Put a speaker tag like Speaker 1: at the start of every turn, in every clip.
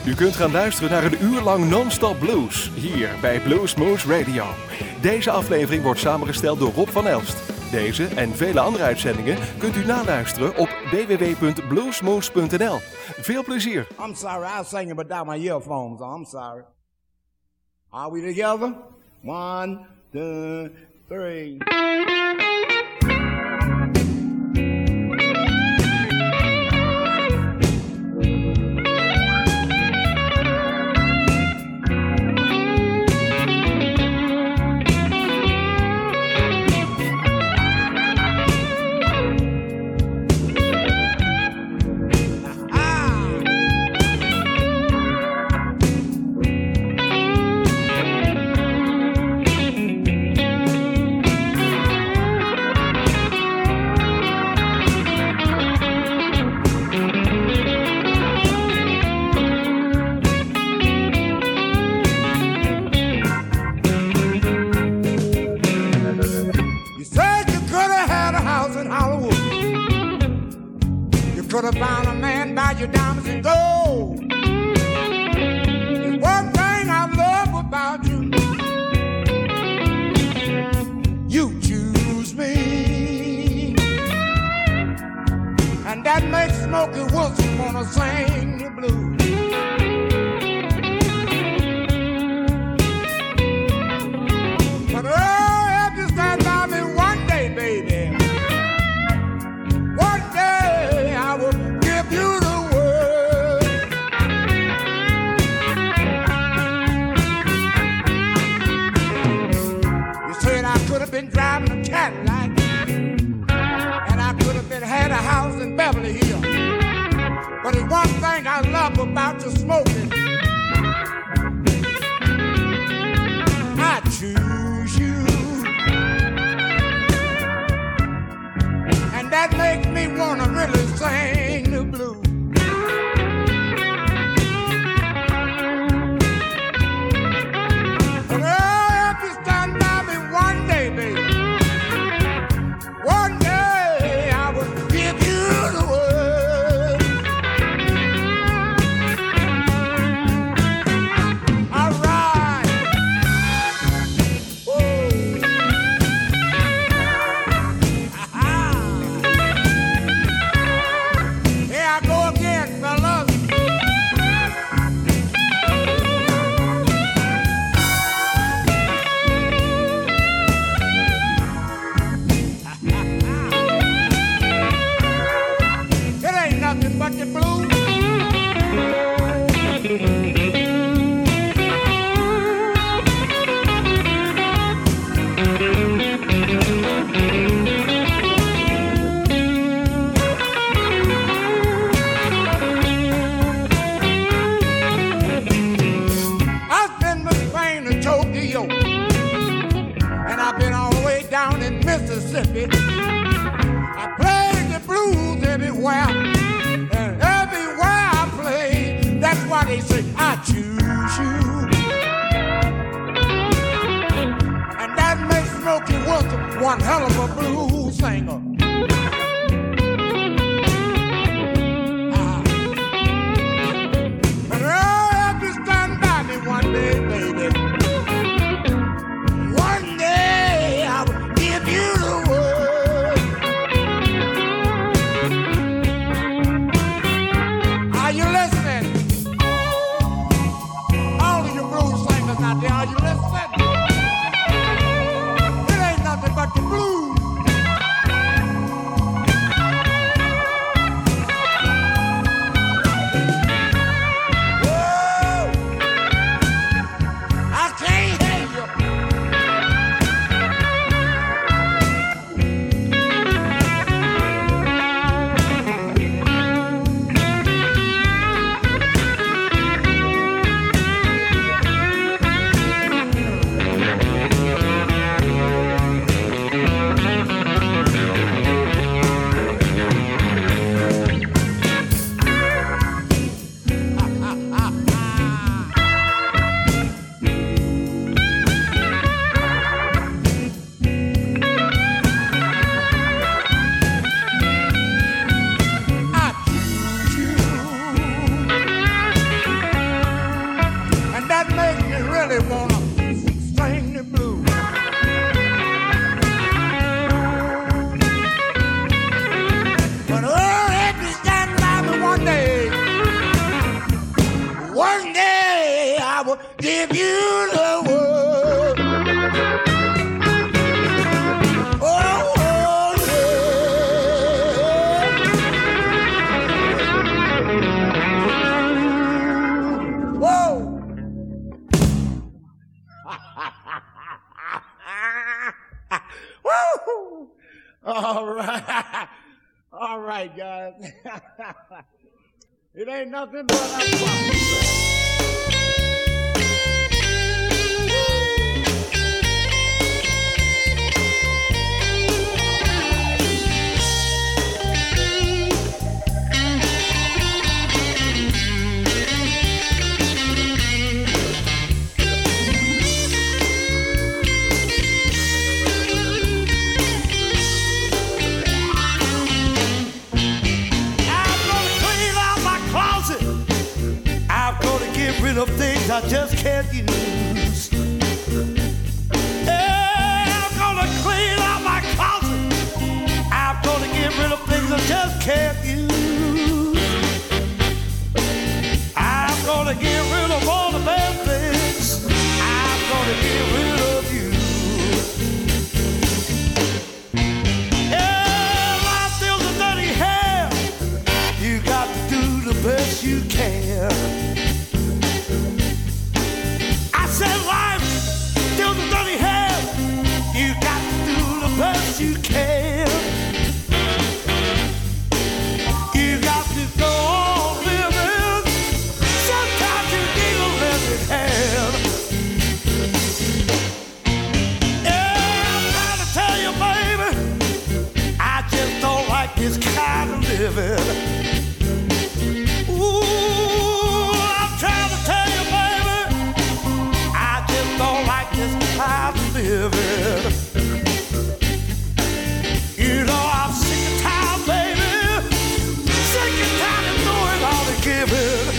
Speaker 1: U kunt gaan luisteren naar een uur lang non-stop blues, hier bij Bluesmoose Radio. Deze aflevering wordt samengesteld door Rob van Elst. Deze en vele andere uitzendingen kunt u naluisteren op www.bluesmoose.nl. Veel plezier.
Speaker 2: I'm sorry, I was singing without my earphones. I'm sorry. Are we together? 1, 2, 3. Could have found a man by your diamonds and gold. There's one thing I love about you. You choose me, and that makes Smokey Wilson wanna sing the blues. But oh, if you stand by me one day, baby, one day I will give you the word. You said I could have been driving a Cadillac, and I could have been had a house in Beverly Hills. But there's one thing I love about you, smoking. I choose you, and that makes me wanna really sing the blues. But oh, if you stand by me one day, baby, one day I will give you the word. All right. Whoa. Here I go again, fellas. It ain't nothing but the blues. I've been with Spain to Tokyo, and I've been all the way down in Mississippi. I played the blues everywhere, and everywhere I play, that's why they say I choose you. And that makes Smokey Wilson one hell of a blues singer. But oh, if you stand by me one day, baby, one day I will give you the word. Are you listening? All of you blues singers out there, are you listening? It ain't nothing but the blues. right, guys. It ain't nothing but a problem.
Speaker 3: Of things I just can't use. Yeah, I'm gonna clean out my closet. I'm gonna get rid of things I just can't use. I'm gonna get rid of all the bad things. I'm gonna get rid of you. Yeah, life feels a dirty hair. You got to do the best you can. Said life still the dirty hair. You got to do the best you can. You got to go on living. Sometimes you need a living hand. Yeah, I'm trying to tell you, baby, I just don't like this kind of living. I'm living. You know I'm sick and tired, baby. Sick and tired of doing all the giving.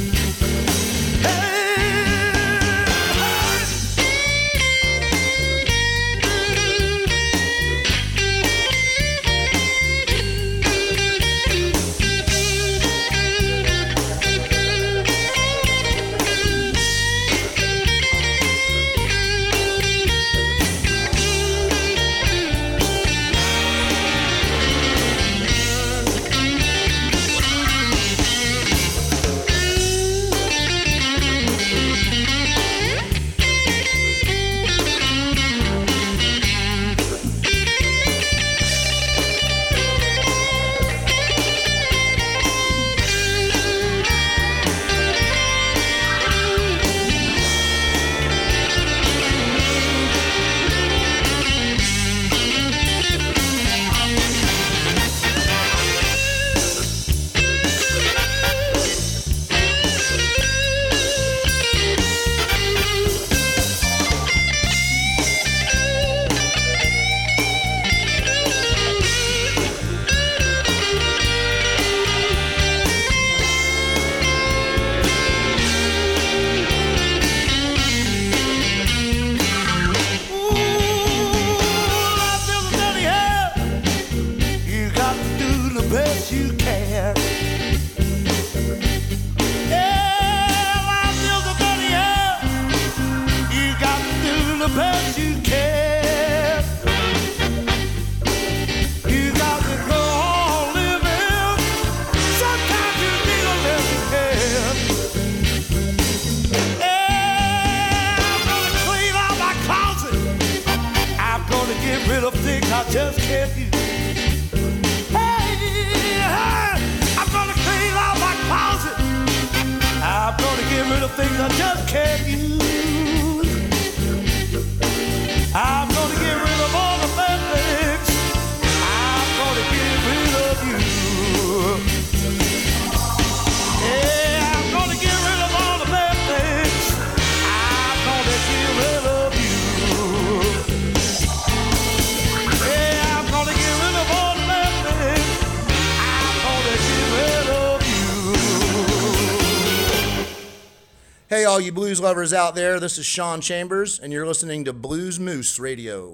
Speaker 4: Hey, all you blues lovers out there, this is Sean Chambers, and you're listening to Blues Moose Radio.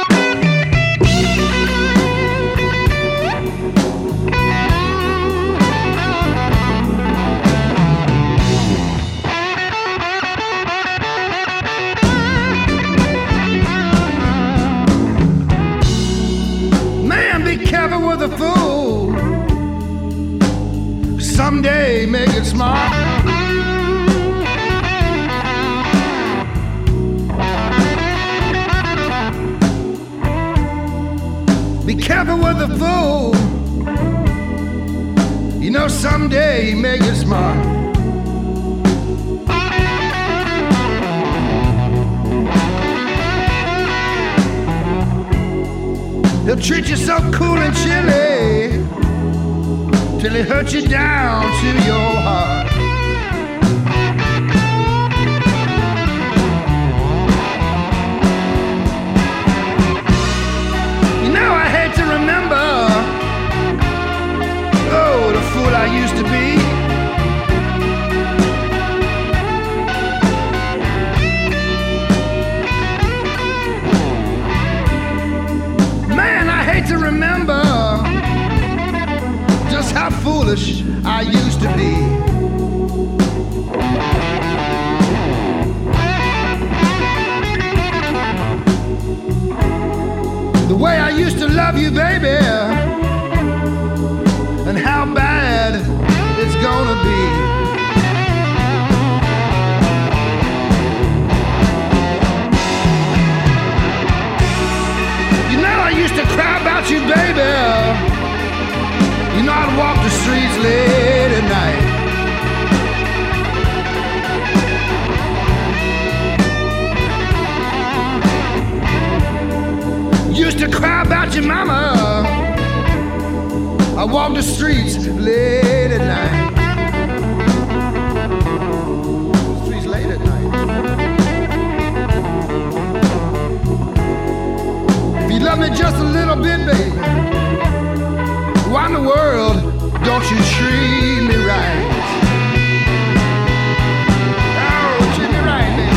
Speaker 2: Man, be careful with a fool. Someday make it smart. Be careful with the fool.
Speaker 3: someday he may get smart. He'll treat you so cool and chilly till he hurts you down to your heart. You know, I hate to remember, oh, the fool I used to be. Man, I hate to remember just how foolish I used to be. The way I used to love you, baby, and how bad it's gonna be. You know I used to cry about you, baby. You know I'd walk the streets late at night. Used to cry about your mama. I walk the streets late at night. Streets late at night. If you love me just a little bit, baby, why in the world don't you treat me right? Oh, treat me right, baby.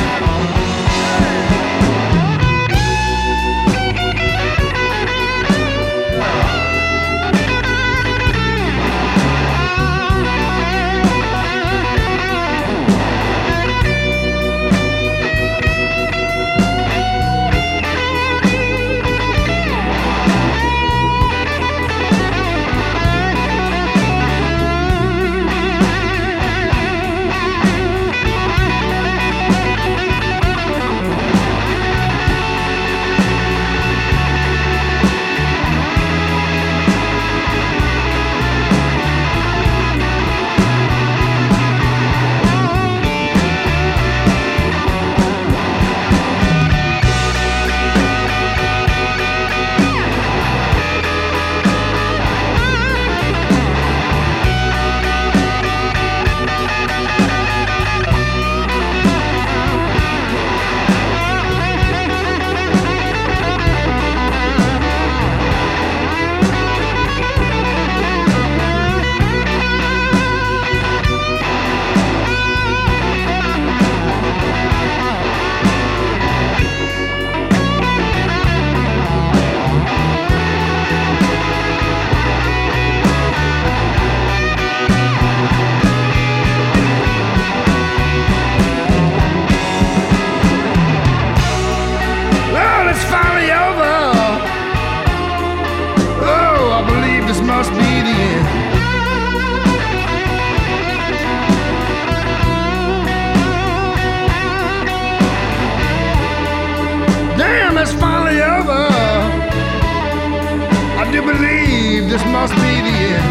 Speaker 3: This must be the end.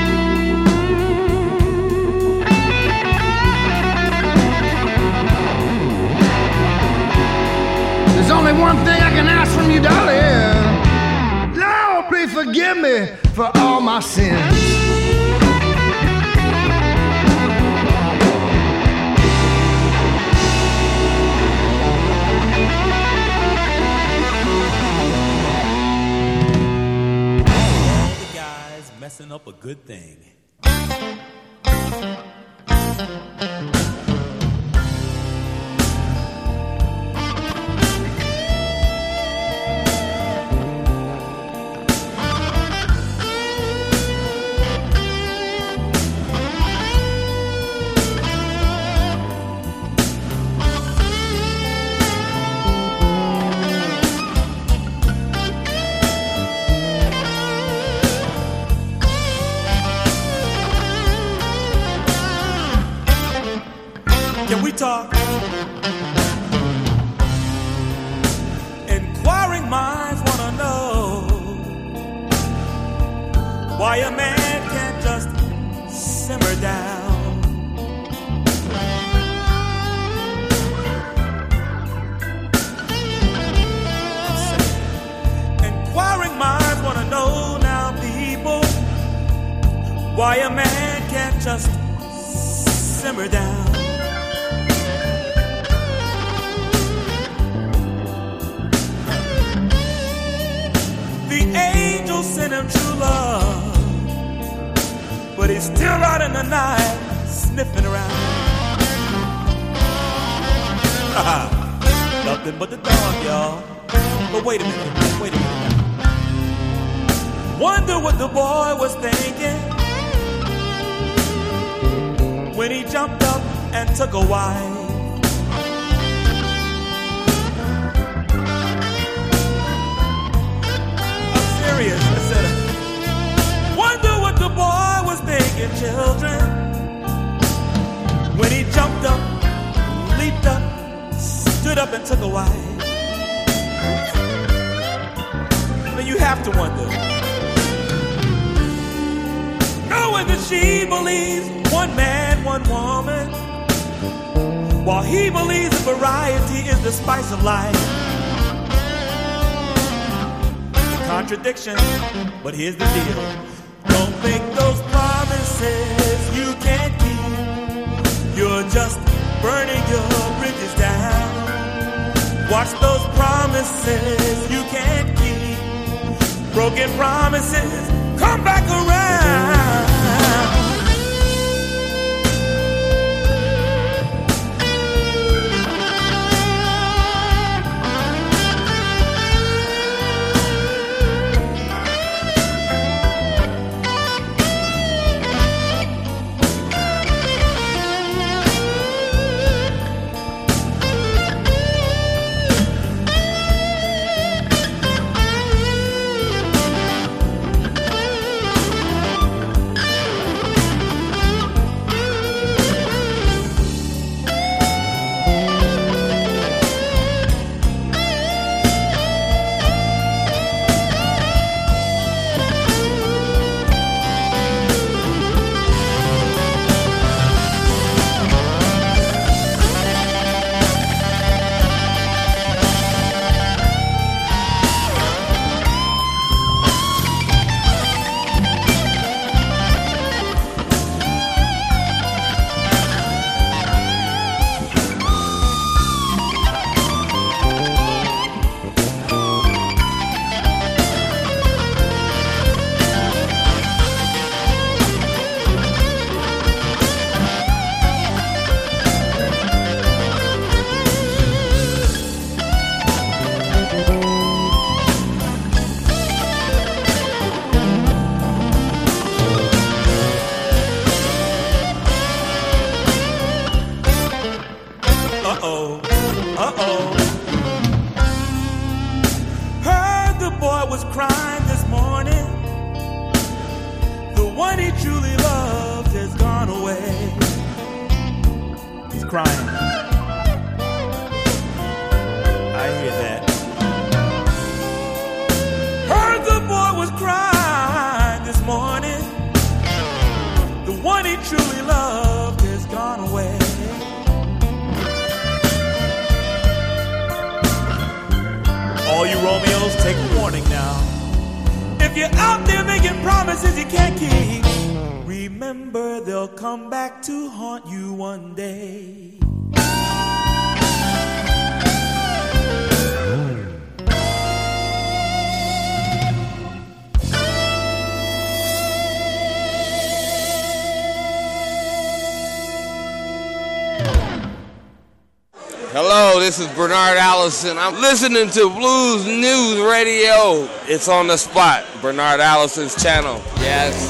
Speaker 3: There's only one thing I can ask from you, darling. Lord, please forgive me for all my sins.
Speaker 5: Messing up a good thing. Can we talk? Inquiring minds wanna know why a man can't just simmer down. Inquiring minds want to know now, people, why a man can't just simmer down. The angel sent him true love, but he's still out in the night sniffing around. Nothing but the dog, y'all. But wait a minute now. Wonder what the boy was thinking when he jumped up and took a wife. I'm serious. I said, wonder what the boy was thinking, children, when he jumped up, leaped up, stood up and took a wife. Now you have to wonder, knowing that she believes one man, one woman, while he believes that variety is the spice of life. The contradiction, but here's the deal. Don't make those promises you can't keep. You're just burning your bridges down. Watch those promises you can't keep. Broken promises come back around. Heard the boy was crying this morning. The one he truly loved has gone away. He's crying. I hear that. Heard the boy was crying this morning. The one he truly loved has gone away. All you Romeos, take warning now. If you're out there making promises you can't keep, remember they'll come back to haunt you one day.
Speaker 6: Hello, this is Bernard Allison. I'm listening to Blues News Radio. It's on the spot, Bernard Allison's channel. Yes.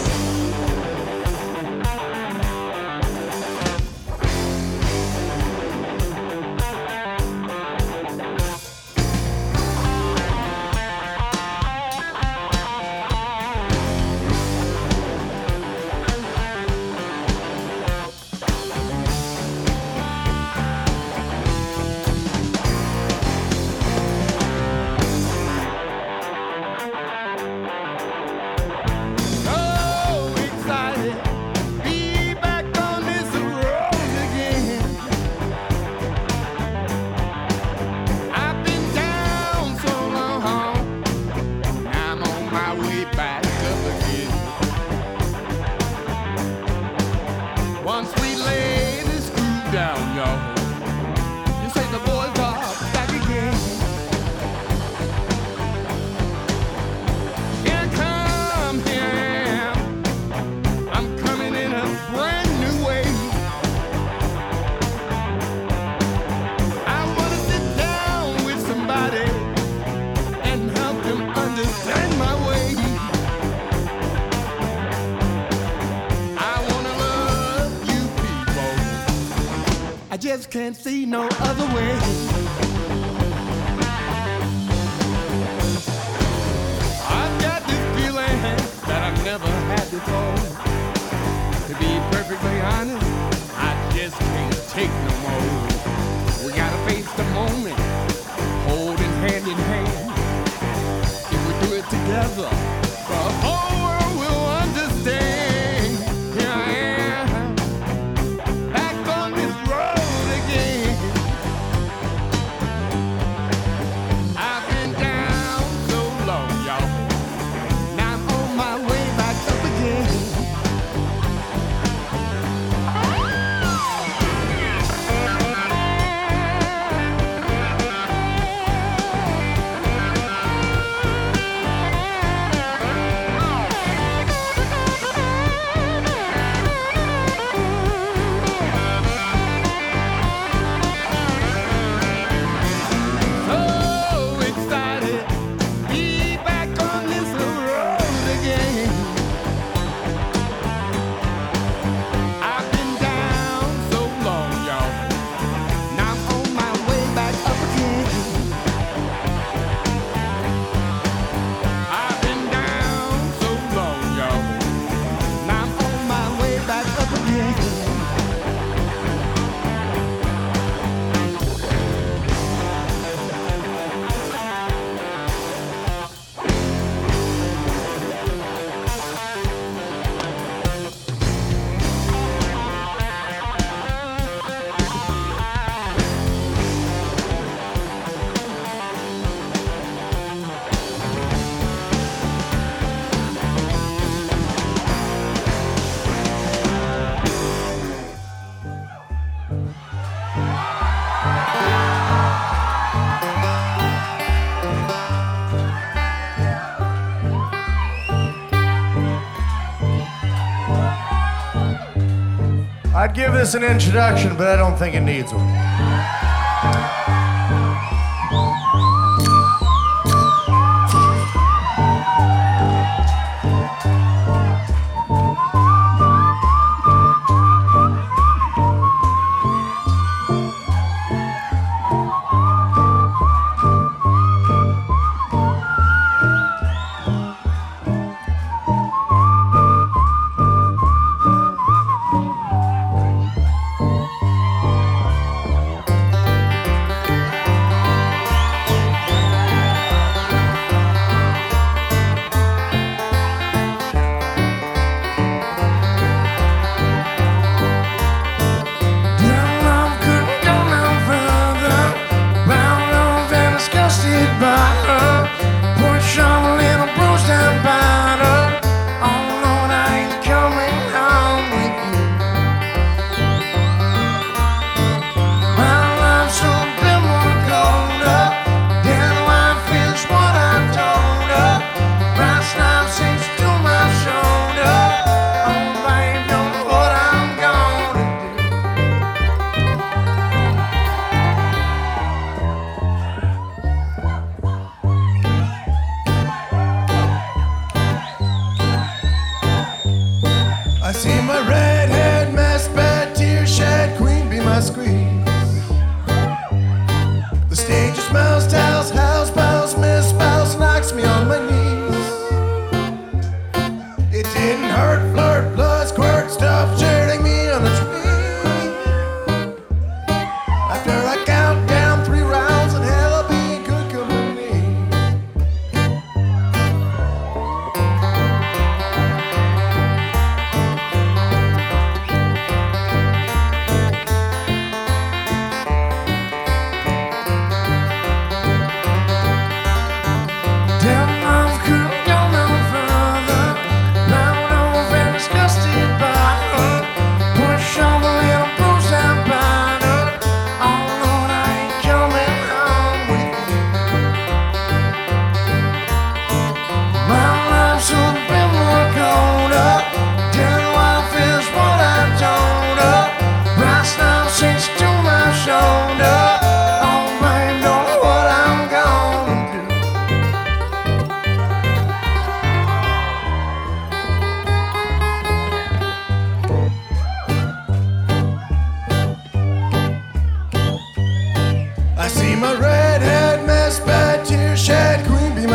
Speaker 3: I just can't see no other way. I've got this feeling that I've never had before. To be perfectly honest, I just can't take no more. We gotta face the moment, holding hand in hand. If we do it together, the whole world will understand. Here I am, back on this road again. I've been down so long, y'all. Now I'm on my way back up again.
Speaker 7: I'd give this an introduction, but I don't think it needs one.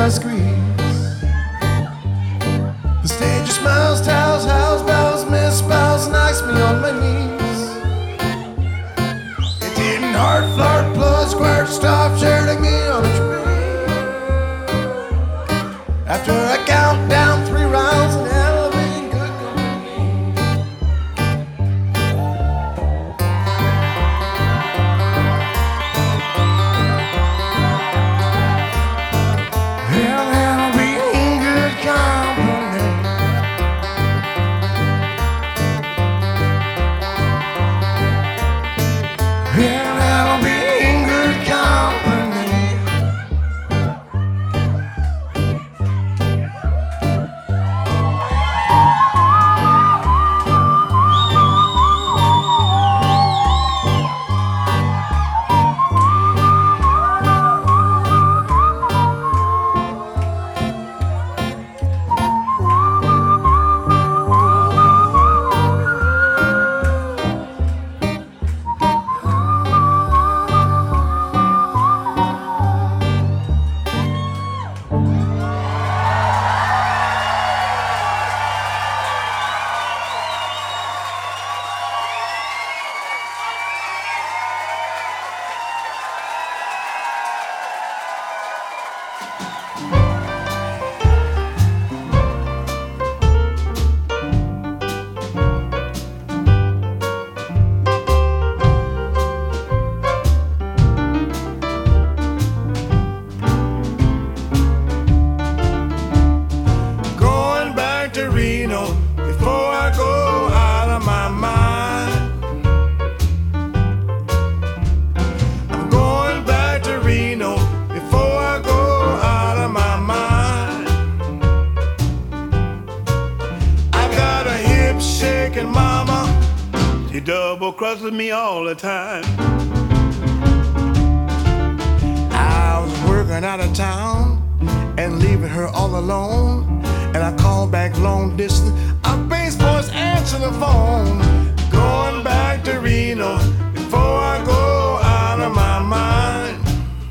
Speaker 7: I squeeze. The stage smiles, tells, house bells, misspells, knocks me on my knees. It didn't heart, flirt, blood, squirt, stop, shooting me on a tree. After I count down 3 rounds and elevating good company. Well, I'll be in good company. Well, I'll be in good company. Going back to Reno before I go out of my mind. I'm going back to Reno before I go out of my mind. I got a hip shaking mama, she double crosses me all the time. I was working out of town and leaving her all alone. And I called back long distance. A bass voice answered the phone. Going back to Reno before I go out of my mind.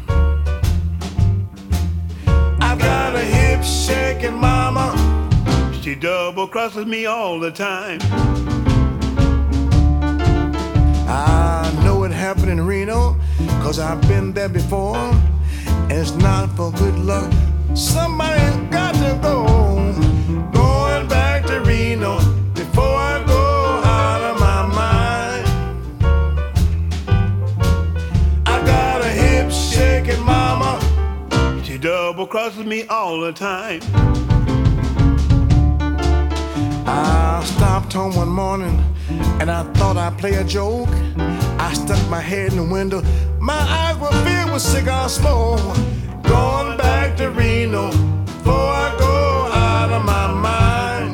Speaker 7: I've got a hip shaking mama, she double crosses me all the time. I know it happened in Reno, 'cause I've been there before. And it's not for good luck, somebody's got to go. Going back to Reno before I go out of my mind. I got a hip shaking mama, she double crosses me all the time. I stopped home one morning and I thought I'd play a joke. I stuck my head in the window, my eyes were filled with cigar smoke. Going back to Reno before I go out of my mind.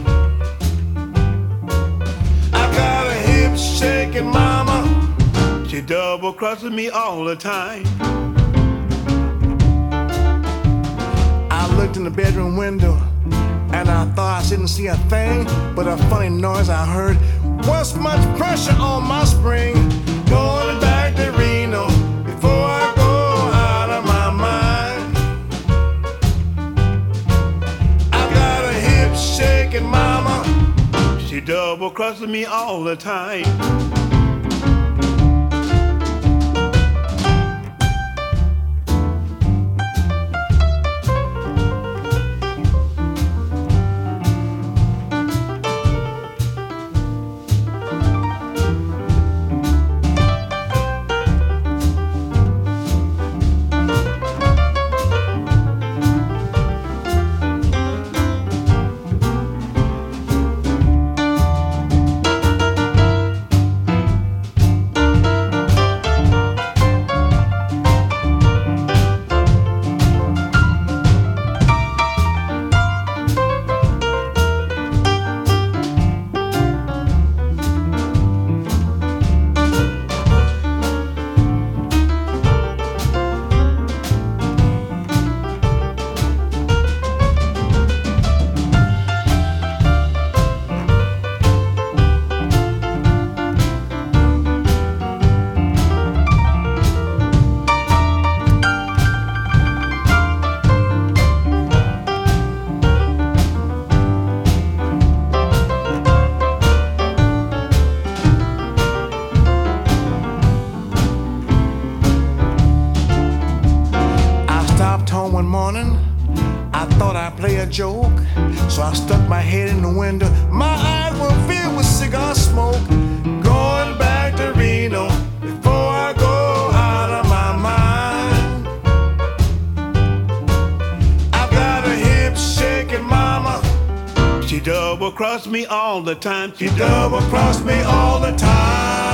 Speaker 7: I got a hip shaking mama, she double crosses me all the time. I looked in the bedroom window and I thought I didn't see a thing but a funny noise I heard. Was much pressure on my spring. Going back to Reno before I go out of my mind. I got a hip shaking mama, she double crosses me all the time. joke. So I stuck my head in the window. My eyes were filled with cigar smoke. Going back to Reno before I go out of my mind. I've got a hip shaking mama. She double-crossed me all the time. She double-crossed me all the time.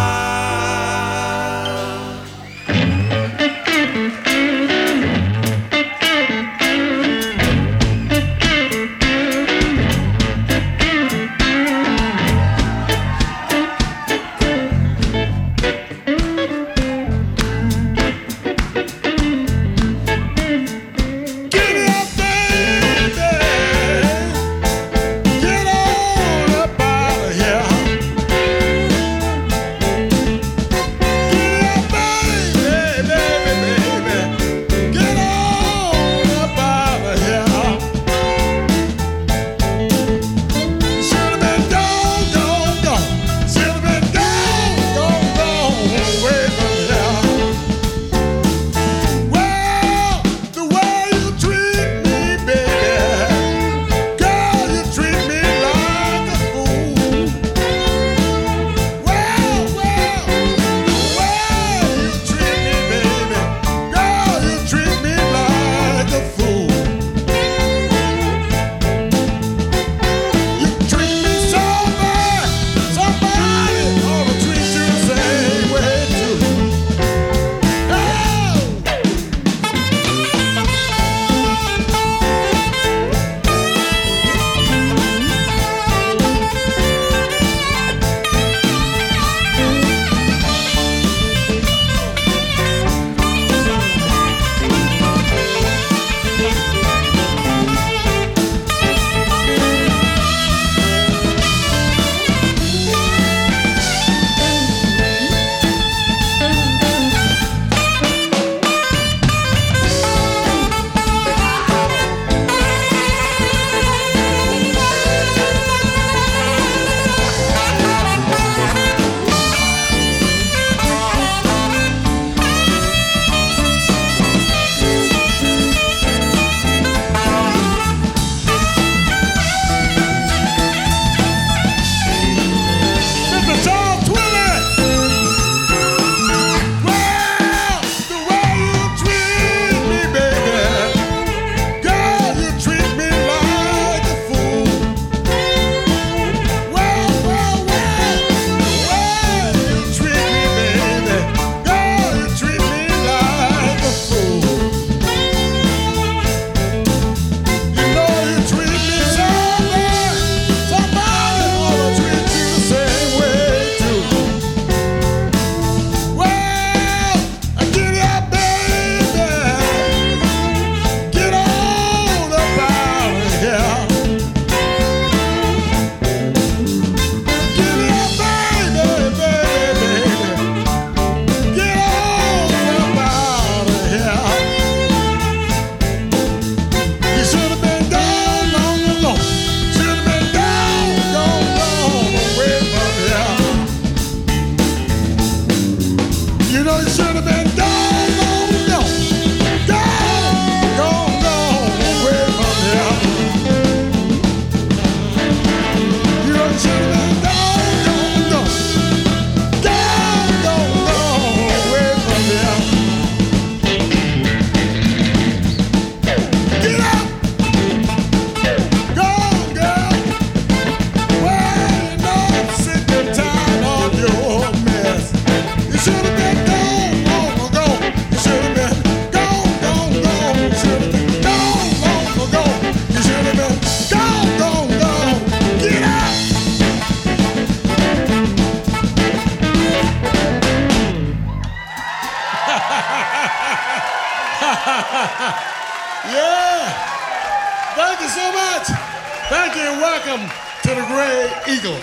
Speaker 8: Yeah. Thank you so much. Thank you and welcome to the Gray Eagle.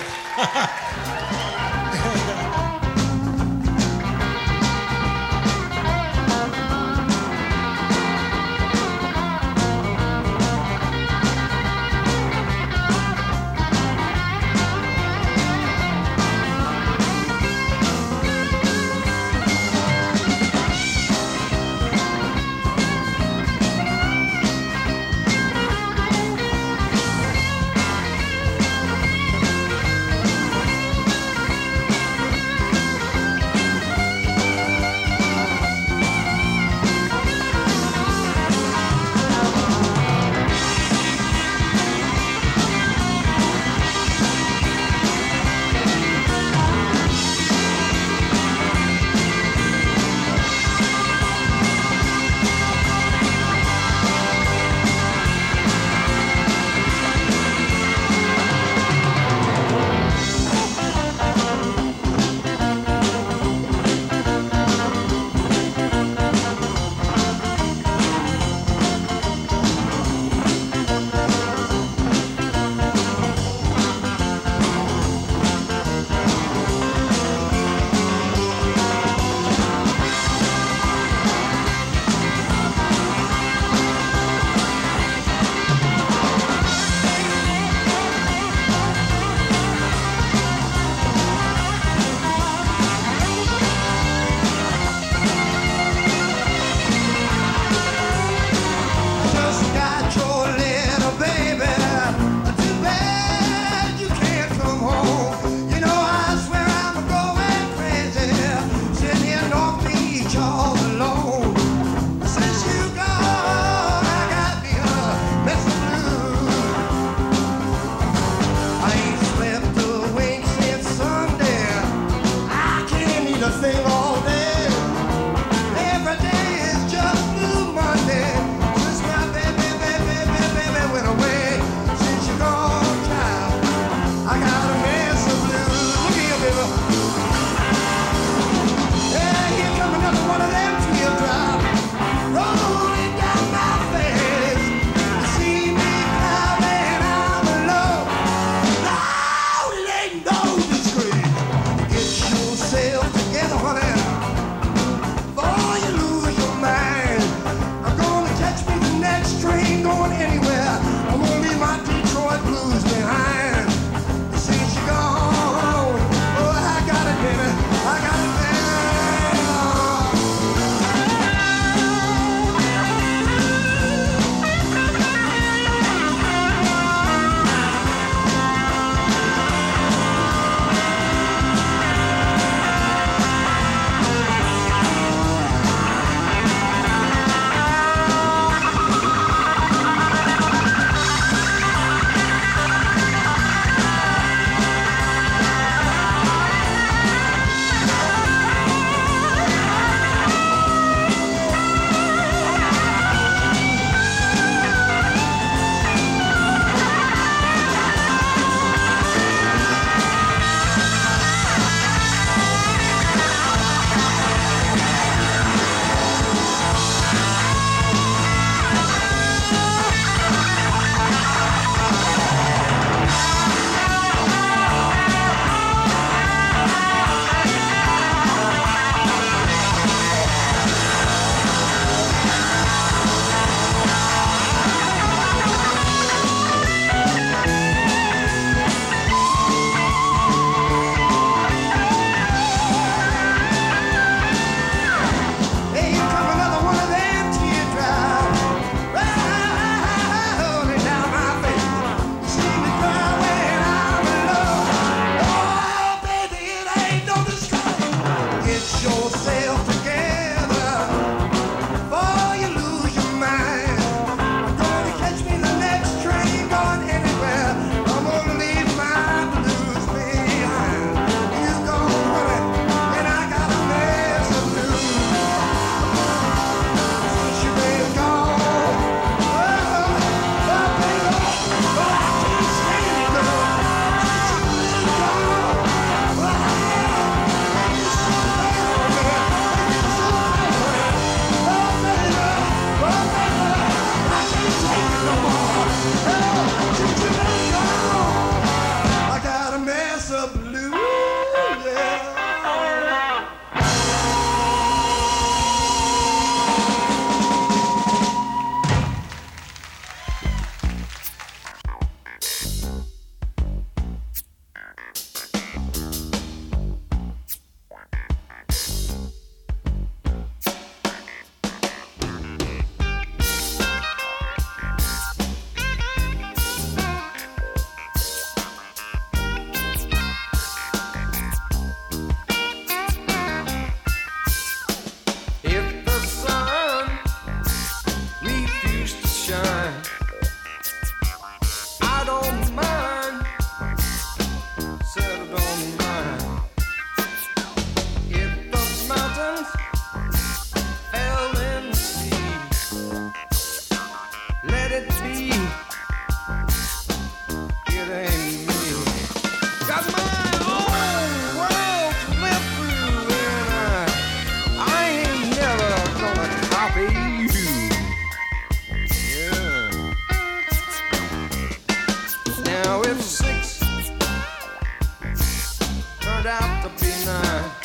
Speaker 3: turned out to be nice.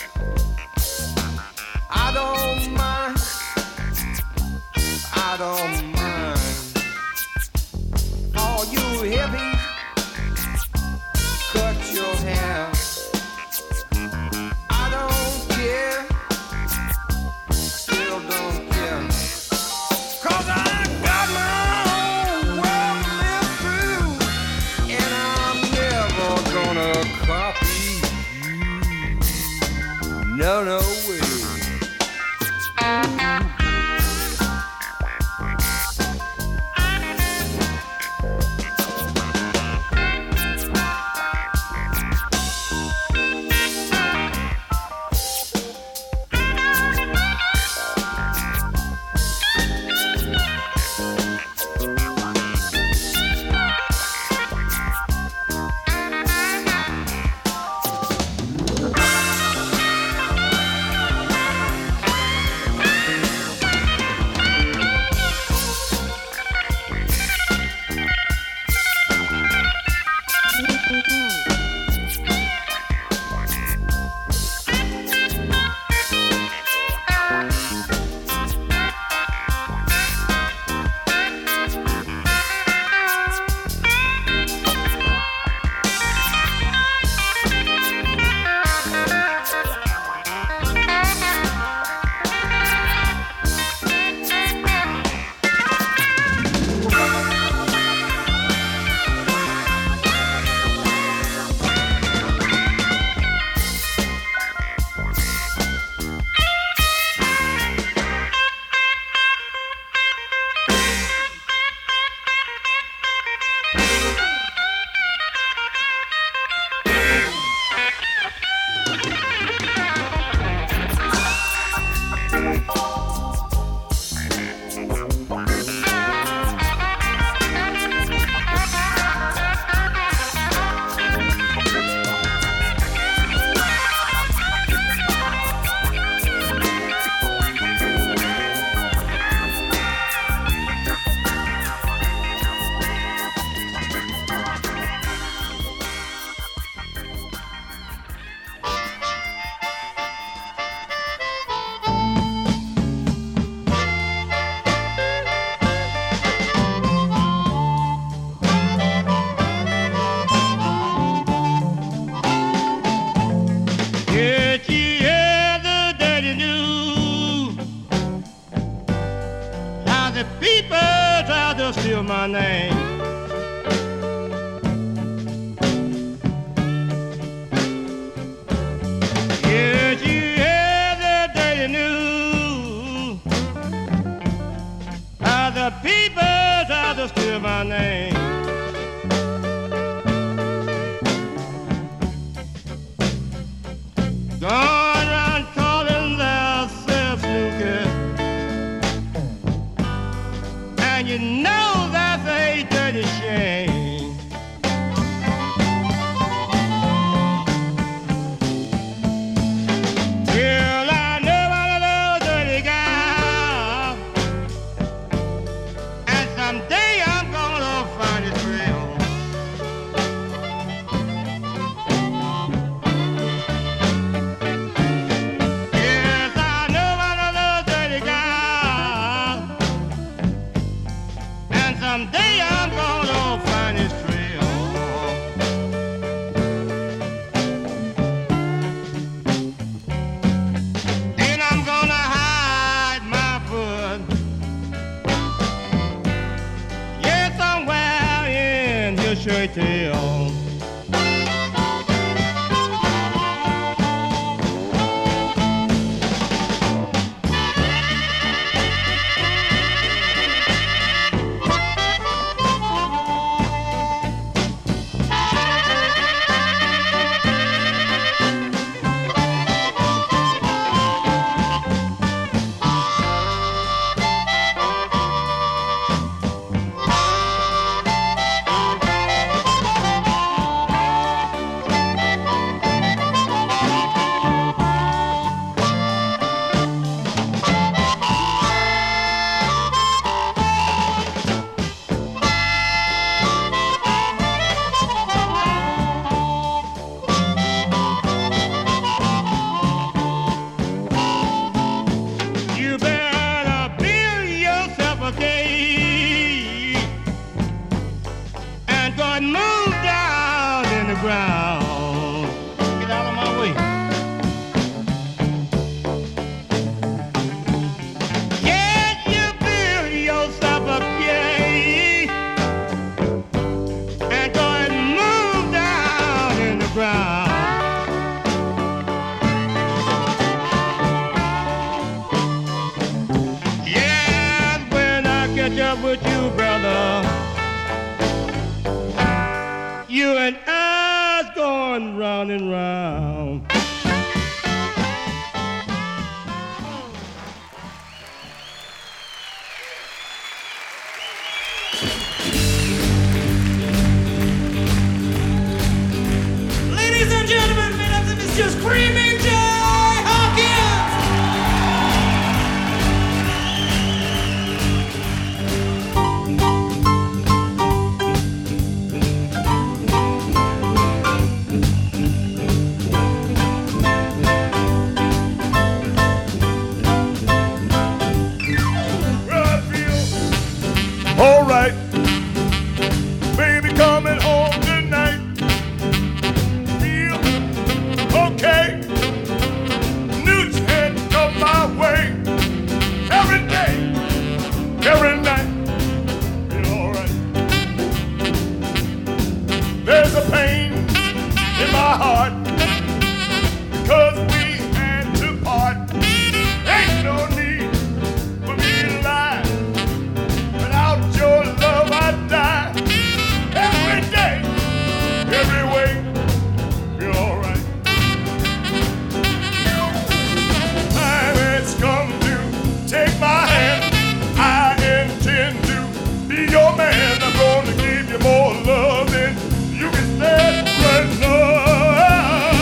Speaker 3: I don't mind, I don't mind. All you hippies, cut your hair. I don't care, still don't care. 'Cause I got my own world to live through, and I'm never gonna copy you. No, no way. Steal my name. Did you hear the dirty news? How the people try to steal my name. Going around calling themselves snooker, and you know that's a hate. ground. Yeah, and when I catch up with you, brother, you and I's going round and round.
Speaker 5: Ladies and gentlemen, mesdames et messieurs, Screaming Jay Hawkins!
Speaker 7: All right, baby, coming home tonight. Feel okay. New head come my way. Every day, every night. Feel all right. There's a pain in my heart 'cause we had to part. Ain't no need for me to lie. Without your love, I die. Every day, every way, you're all right. Time has come to take my hand. I intend to be your man. I'm gonna give you more love than you can stand right now.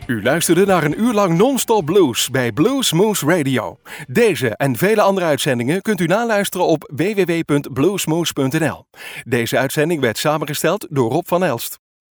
Speaker 1: U luisterde naar een uur lang non-stop blues bij Blues Moose Radio. Deze en vele andere uitzendingen kunt u naluisteren op www.bluesmoose.nl. Deze uitzending werd samengesteld door Rob van Elst.